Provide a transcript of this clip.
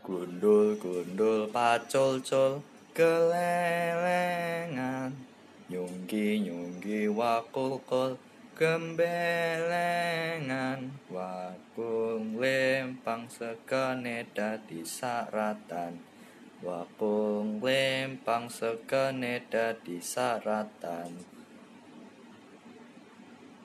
Gundul gundul pacul-cul kelelengan, nyunggi nyunggi wakul-kul gembelengan, wakung lempang sekene dadi saratan, wakung lempang sekene dadi saratan.